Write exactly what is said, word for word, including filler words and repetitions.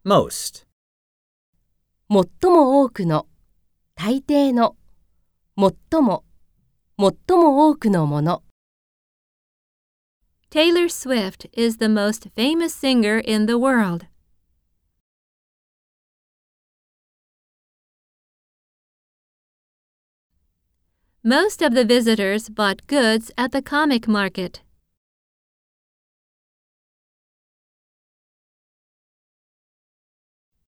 most. 最も多くの、大抵の、最も、最も多くのもの。 Taylor Swift is the most famous singer in the world. Most of the visitors bought goods at the comic market.